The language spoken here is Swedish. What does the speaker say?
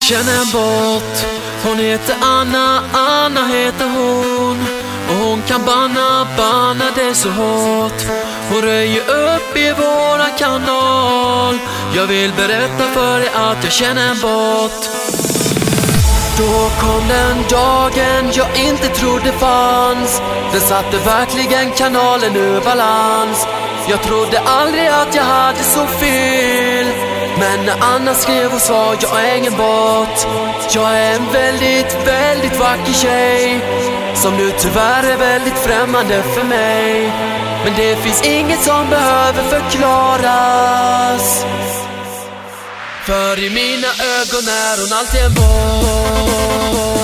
känner en bot. Hon heter Anna, Anna heter hon. Och hon kan banna det så hårt. Hon röjer upp i våran kanal. Jag vill berätta för dig att jag känner en bot. Då kom den dagen jag inte trodde fanns. Den satte verkligen kanalen ur balans. Jag trodde aldrig att jag hade så fel. Men när Anna skrev och sa jag är ingen bot. Jag är en väldigt, väldigt vacker tjej som nu tyvärr är väldigt främmande för mig. Men det finns inget som behöver förklaras. För i mina ögon är hon alltid en bot.